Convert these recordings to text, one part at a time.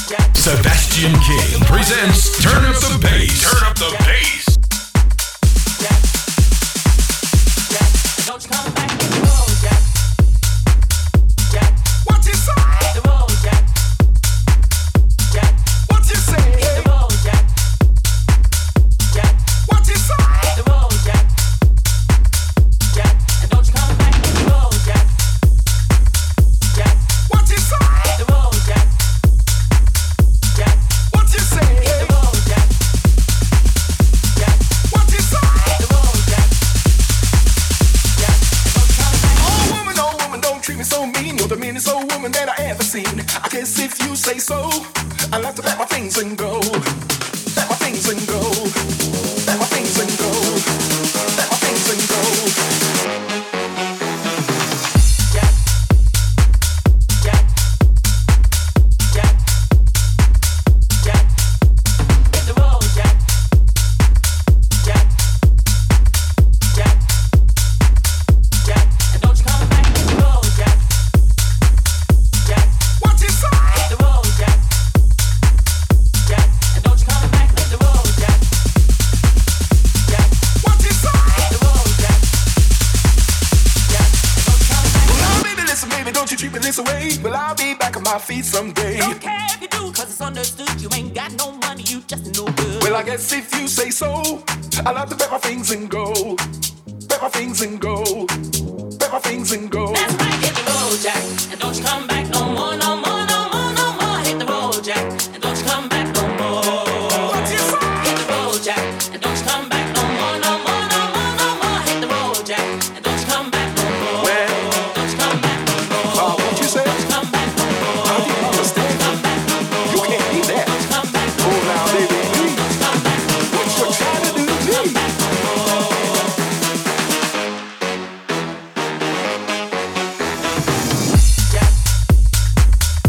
Sebastian King presents Turn Up the Bass. Turn Up the Bass. Don't you come back to the road, Jack. Jack. What you say? Hit the road, Jack. Jack. What you say? Hit the road, Jack. Jack. What you say? Hit the road, Jack. Jack. And don't you come back to the road, Jack. Jack. What you say? Hit the road, Jack. Jack. What you say? Hit the road, Jack. Jack. What you say? Hit the road, Jack. Jack. And don't you come back. Oh woman, don't treat me so mean. You're the meanest old woman that I ever seen. I guess if you say so, I'll have to pack my things and go. Pack my things and go. Pack my things and go. Pack my things and go. Jack. Jack. Jack. Jack. Hit the road, Jack. Jack. Jack. Jack. And don't you come back to the road, Jack. Jack. What you say? Hit the road, Jack. Jack. And don't you come back to the road, Jack. Jack. What you say? Hit the road, Jack. Jack. And don't you come back. Well, now, baby, listen, baby, don't you treat me this way. Well, I'll be back on my feet someday. Don't care if you do, 'cause it's understood. You ain't got no money, you just no good. Well, I guess if you say so, I'll have to pack my things and go. Pack my things and go. Pack my things and go. That's right, hit the road, Jack. And don't you come back no more, no more, no more, no more. Hit the road, Jack. And don't you come back no more. What you say? Hit the road, Jack. And don't you come back no more, no more, no more, no more. Hit the road, Jack. And don't you come back no more. Well, Don't you come back no more. what you say? Don't you come back no more. I didn't understand. Come back no more. You can't do that. Don't you come back no Oh, now, baby, more. Don't you come back no what you trying to do to me? Come back no more. Jack.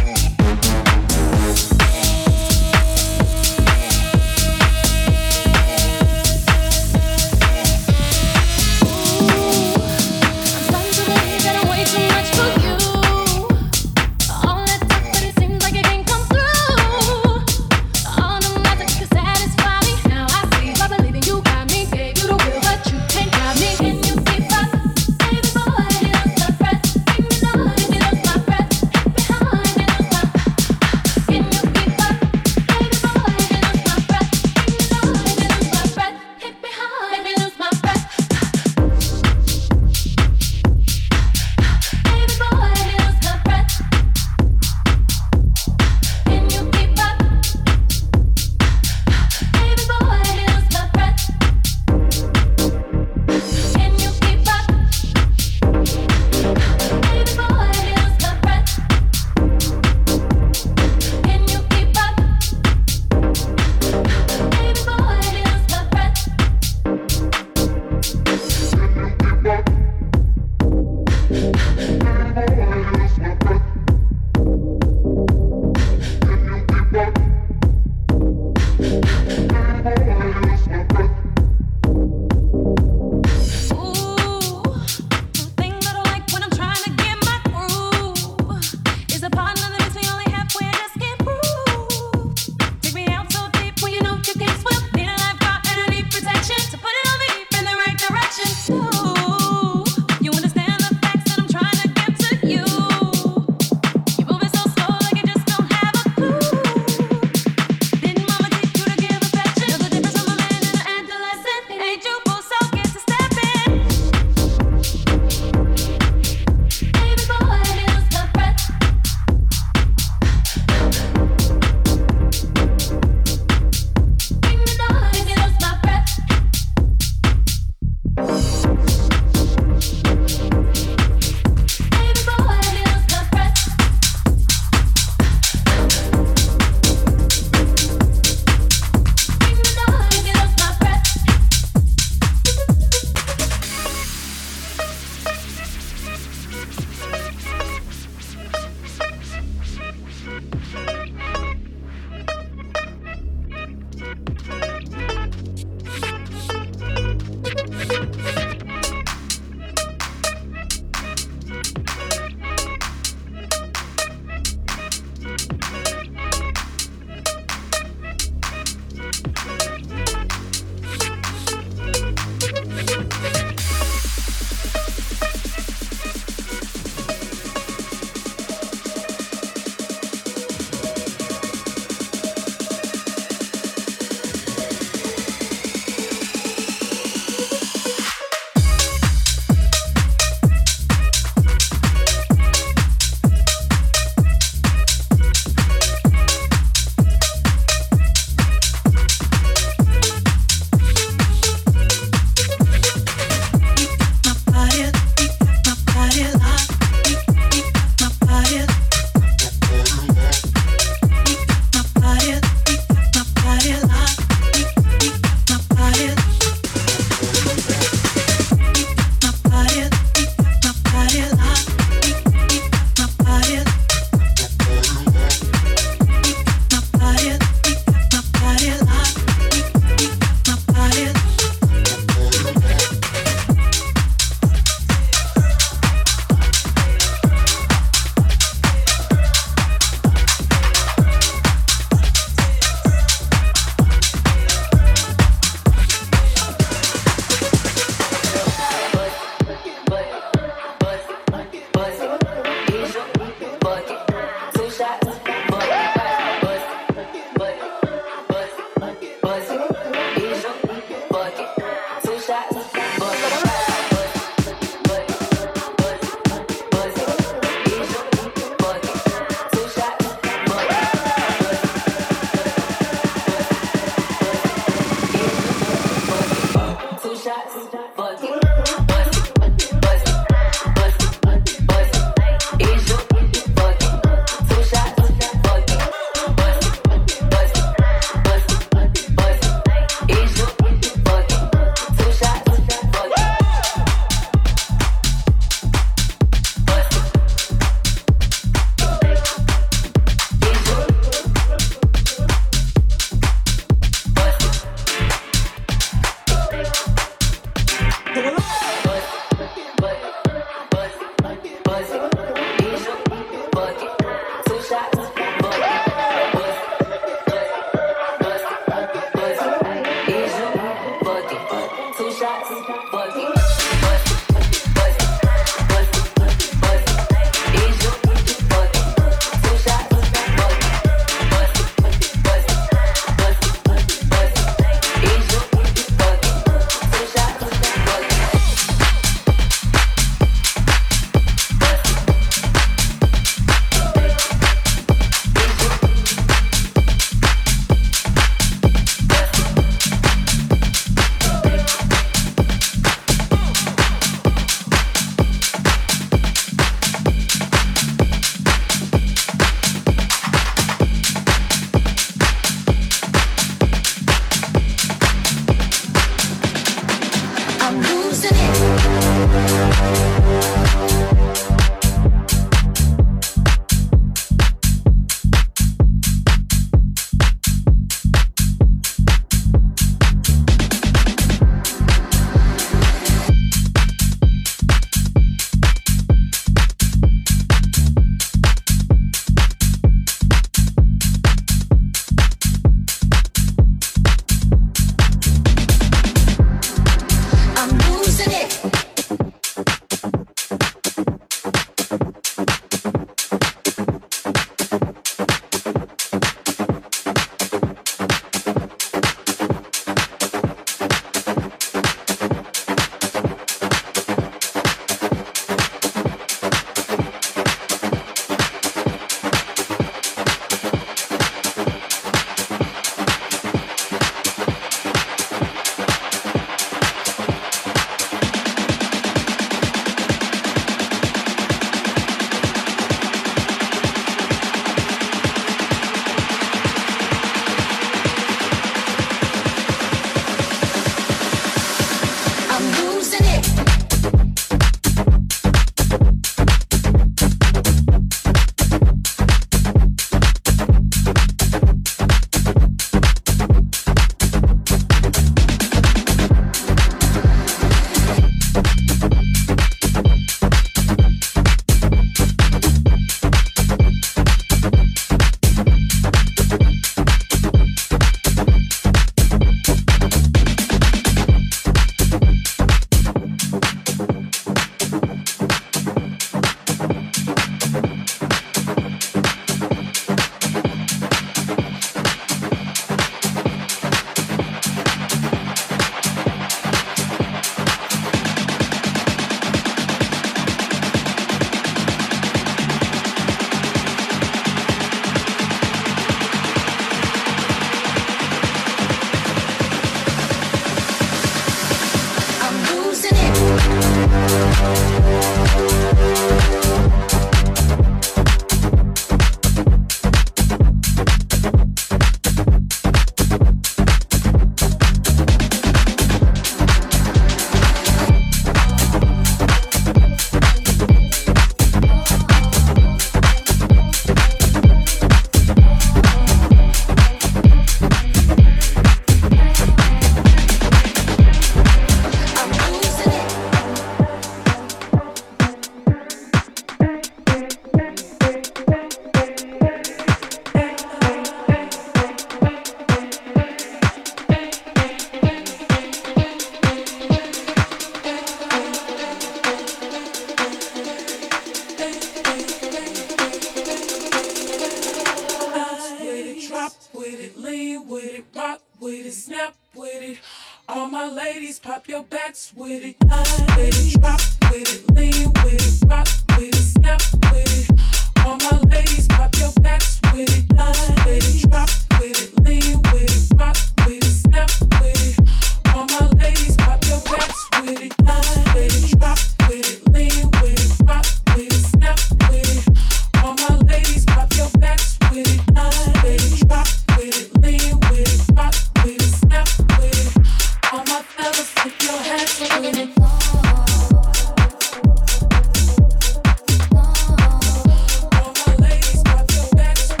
All my ladies, pop your backs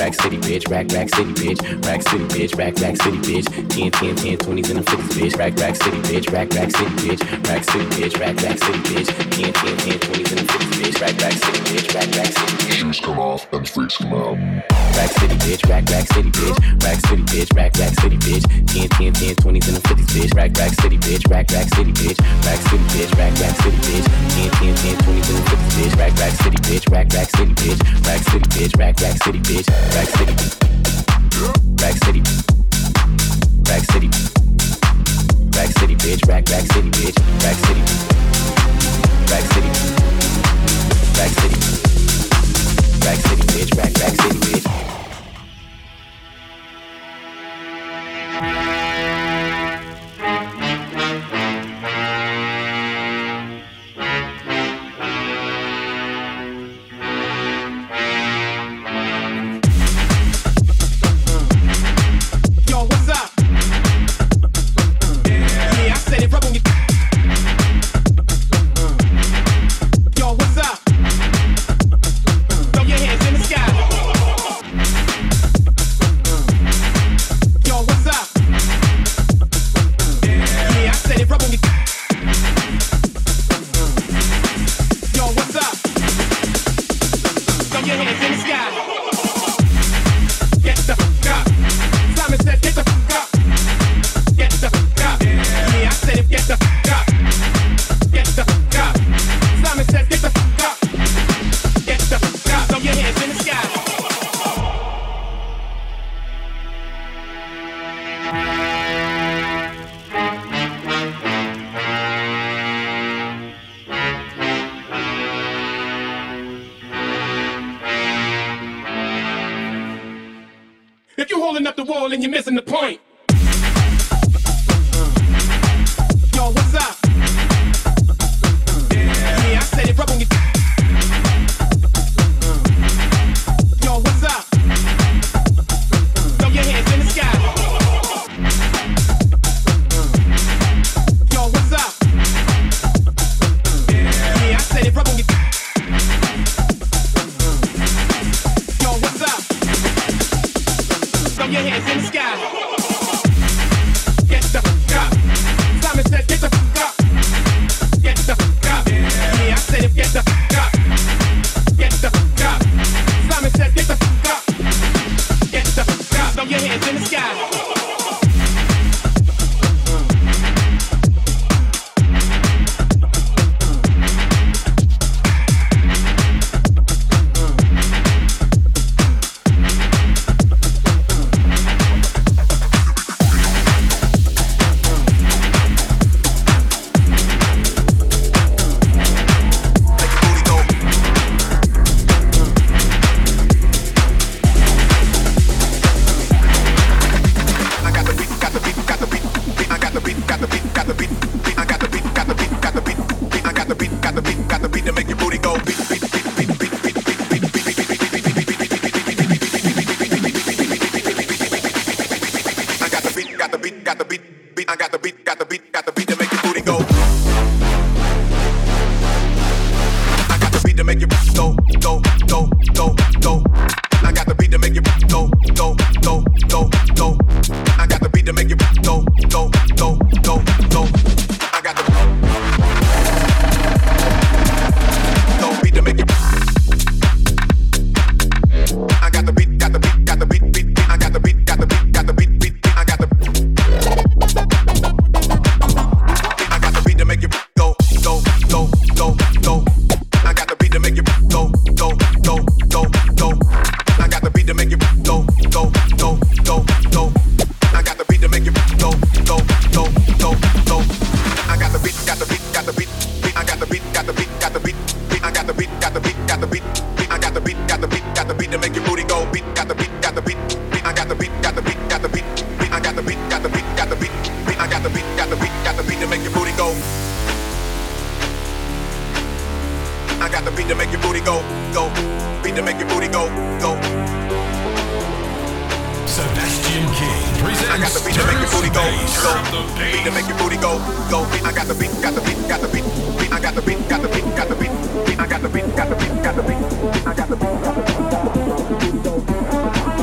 rack city bitch, rack city bitch, rack city bitch, rack city bitch, 10, 10, 10, 20s and the 50s bitch, rack city bitch, rack city bitch, rack city bitch, rack city bitch, 10, 10, 10, 20s and the 50s bitch, rack city bitch, rack city bitch. Shoes come off and freaks come out. Rack city bitch, rack city bitch, rack city bitch, rack city bitch, 10, 10, 10, 20s and the 50s bitch, rack city bitch, rack city bitch, rack city bitch, rack city bitch, 10, 10, 10, 20s and the 50s bitch, rack city bitch, rack city bitch, rack city bitch, rack city bitch, rack city, rack city, rack city, rack city bitch, rack city bitch, rack city, rack city, rack city, rack city bitch, rack city bitch. If you're holding up the wall and you're missing the point. Yo, what's up? Yeah, I said it, rub on your. Yo, what's up? Throw your hands in the sky. Yo, what's up? Yeah, I said it, rub on your. Yo, what's up? Throw your hands in the sky. Get the fuck up. Simon said, get the fuck up. Get the fuck up. Yeah, I said it, get the fuck up. Get the fuck up. Simon said, get the fuck up. Get the fuck up. Throw your hands in the sky. Sebastian King presents Turn Up the Bass. Beat to make your booty go, go. I got the beat, got the beat, got the beat. I got the beat, got the beat, got the beat. I got the beat, got the beat, got the beat. I got the beat, got the beat, got the beat.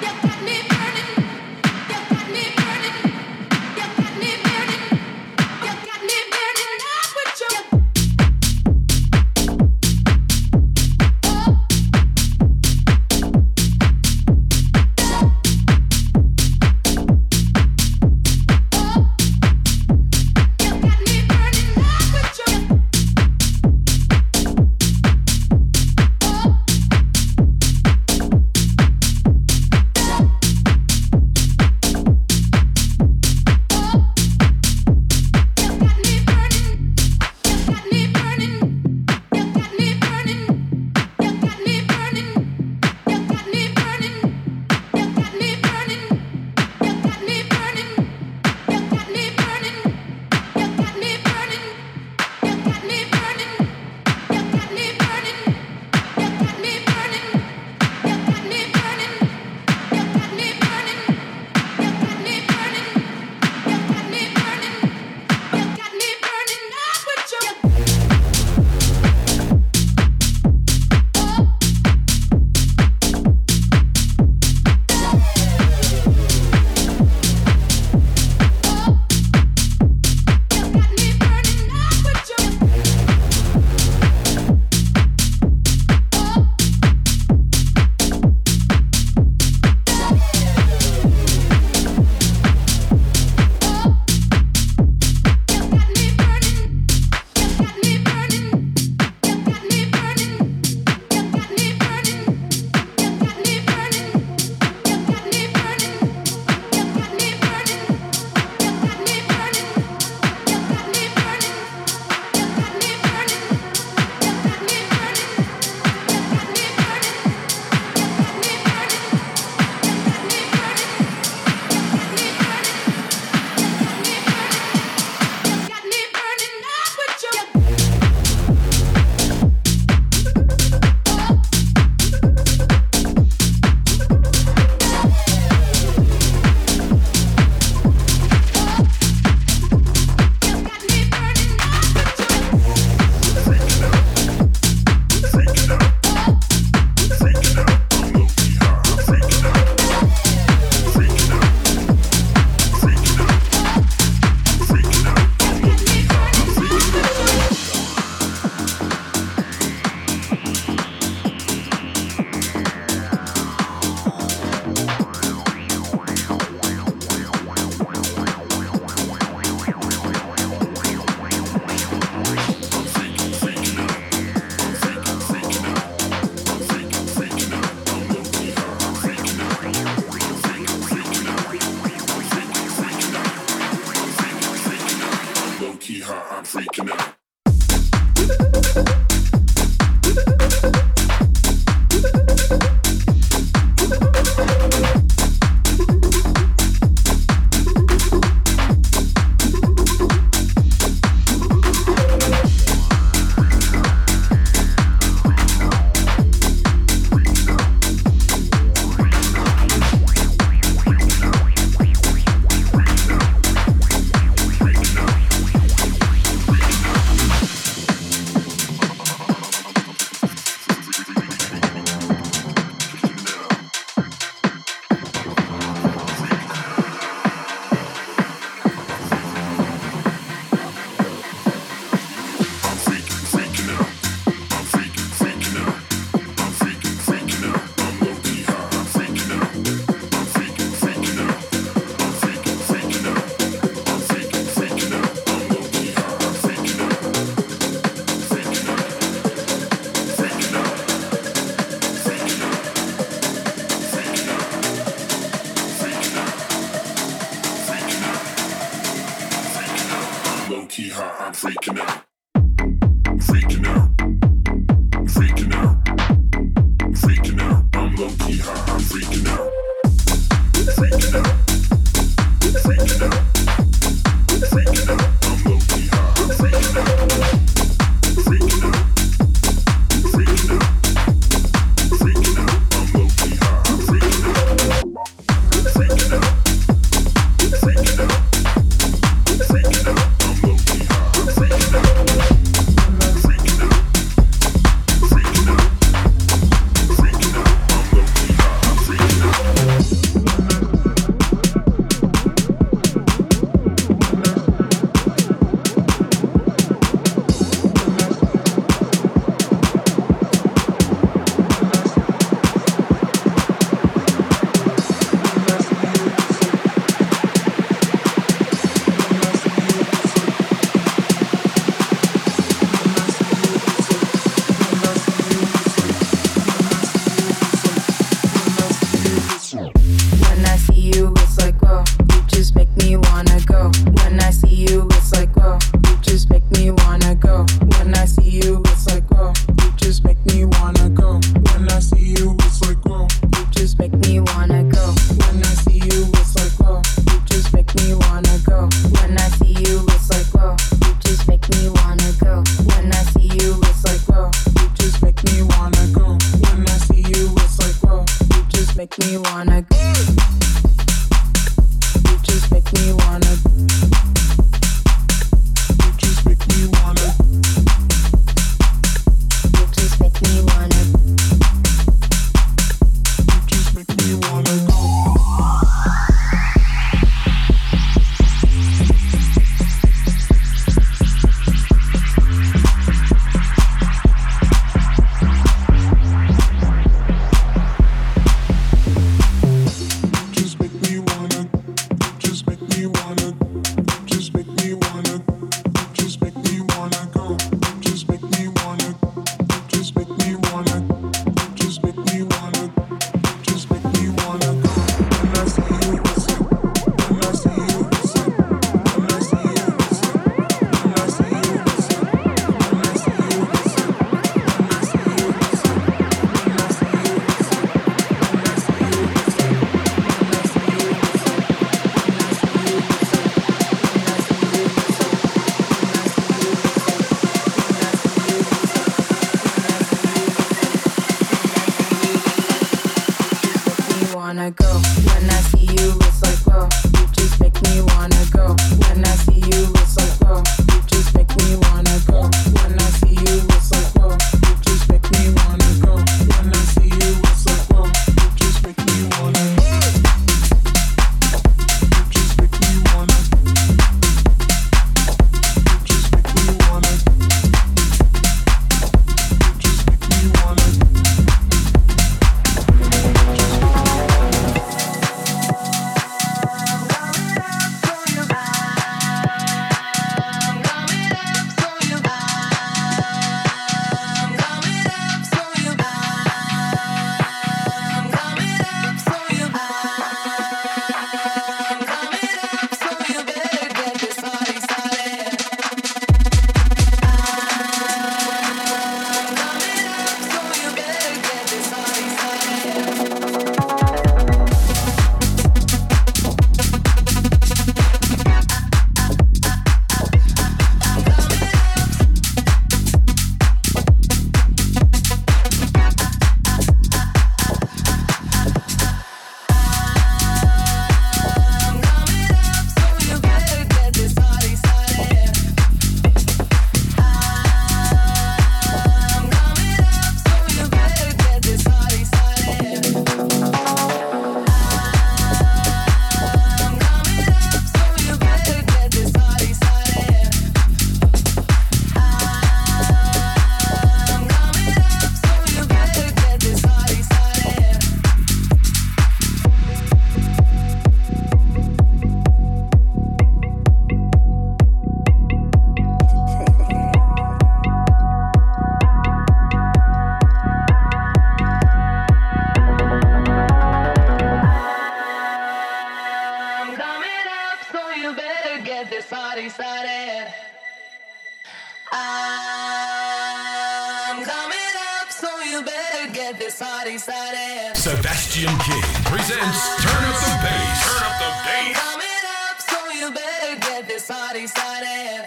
Sebastian King presents Turn Up the Bass. Turn Up the Bass. Coming up, so you better get this party started.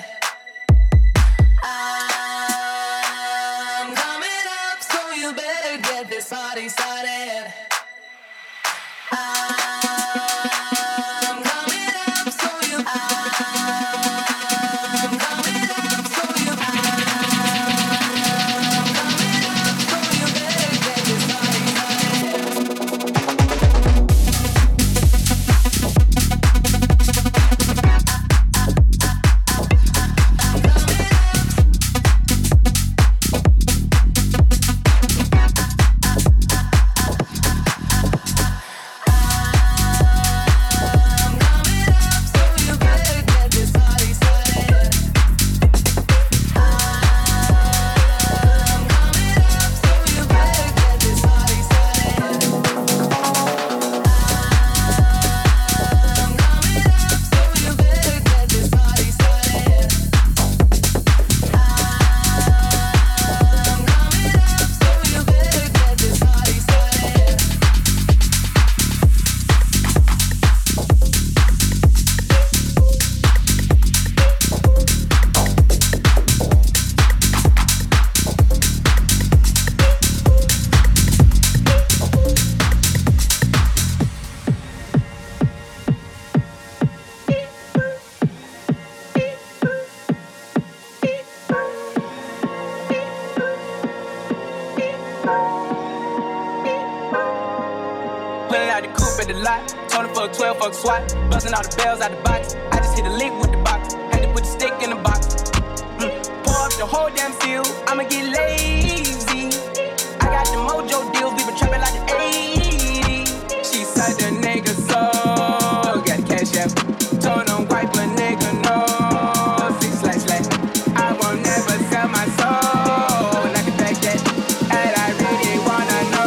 I'm coming up, so you better get this party started. I'm coming up, so you. I'm coming up, so you. I'm coming up, so you better get this party SWAT, busting all the bells out the box. I just hit a lick with the box, had to put the stick in the box. Pour up the whole damn field, I'ma get lazy. I got the mojo deals, we been trapping like the 80s. She said the nigga so, got the cash app. Told him wipe a nigga no, 6//. I won't never sell my soul, like the fact that, and I really wanna know.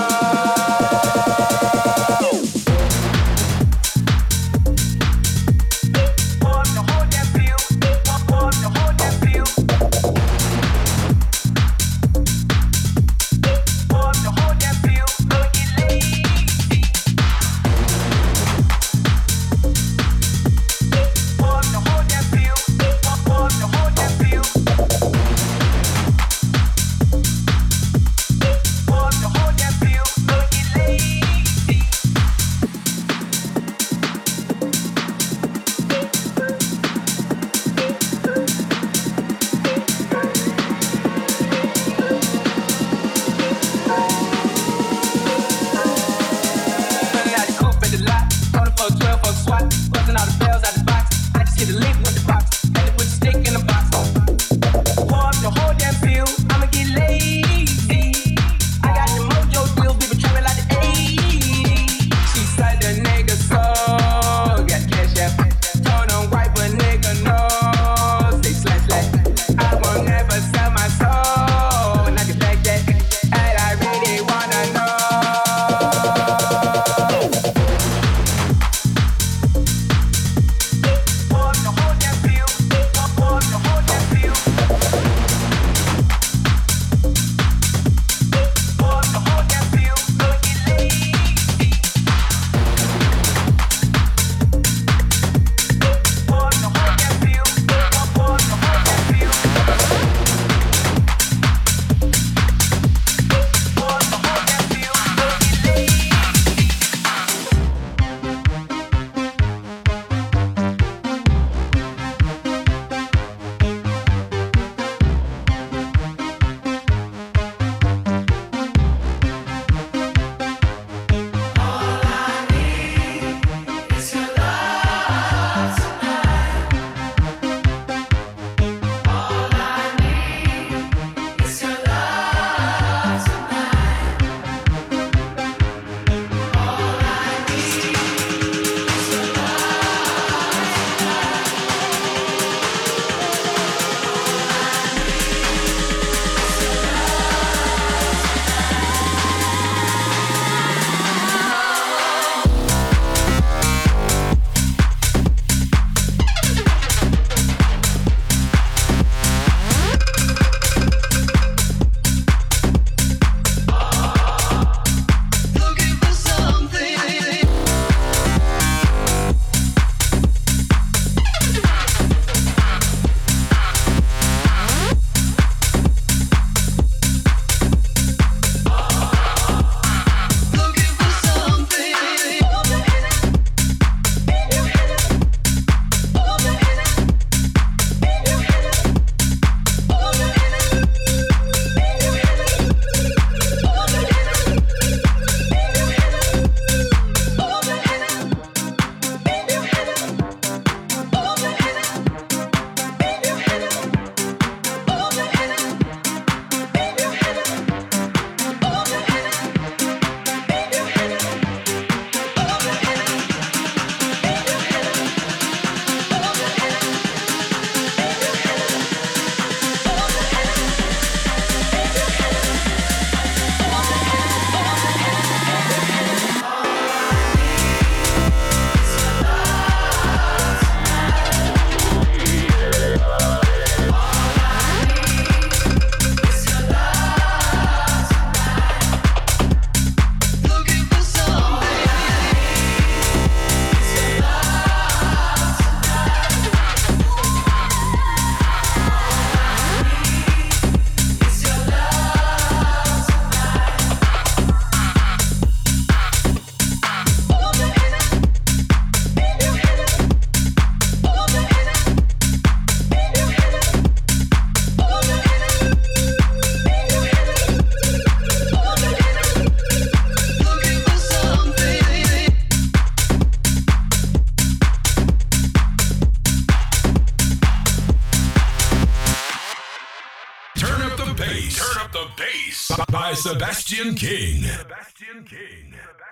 by Sebastian King. Sebastian King.